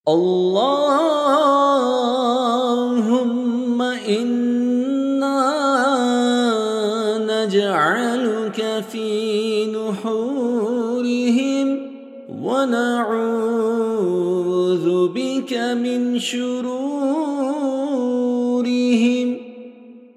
اللهم إنا نجعلك في نحورهم ونعوذ بك من شرورهم